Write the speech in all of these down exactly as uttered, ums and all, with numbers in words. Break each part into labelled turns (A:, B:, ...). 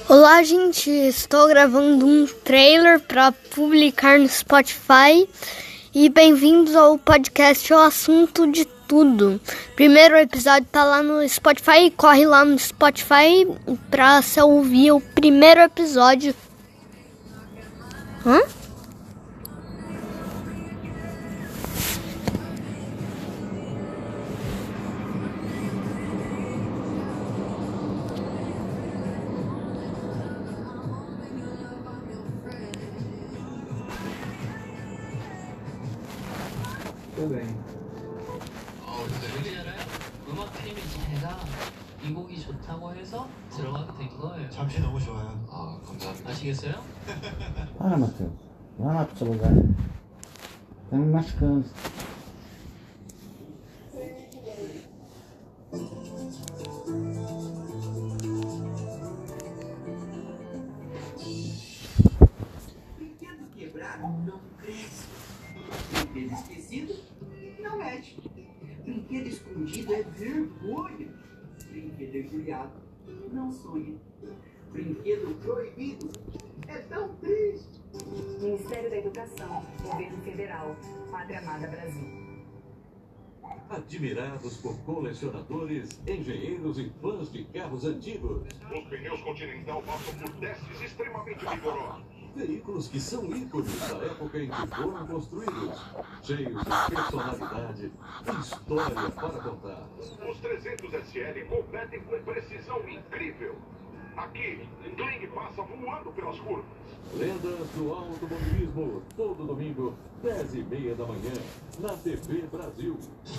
A: Olá, gente, estou gravando um trailer para publicar no Spotify e bem-vindos ao podcast O Assunto de Tudo. Primeiro episódio tá lá no Spotify, corre lá no Spotify para você ouvir o primeiro episódio. Hã?
B: 그래.
C: 어, 근데 음악 팀이 제가 이 곡이 좋다고 해서 들어가게 된 거예요.
B: 잠시 너무 좋아요.
C: 아, 감사합니다. 아시겠어요?
D: Para, Matheus. Vai lá pro seu lugar. Tá me machucando.
E: Brinquedo quebrado não cresce. Brinquedo esquecido não mexe. Brinquedo escondido é vergonha. Brinquedo embrulhado não sonha. Brinquedo proibido é tão triste.
F: Ministério da Educação, Governo Federal, Pátria Amada Brasil.
G: Admirados por colecionadores, engenheiros e fãs de carros antigos.
H: Os pneus Continental passam por testes extremamente rigorosos.
G: Veículos que são ícones da época em que foram construídos. Cheios de personalidade e história para contar.
H: Os trezentos S L competem com precisão incrível. Aqui, Kling passa voando pelas curvas.
G: Lendas do automobilismo, todo domingo, dez e meia da manhã, na T V Brasil.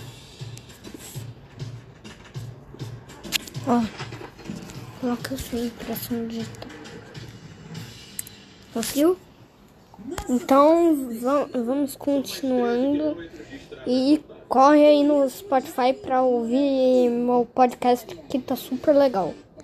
A: Ó, coloca a sua impressão digital. Conseguiu? Então va- vamos continuando e corre aí no Spotify para ouvir meu podcast que tá super legal.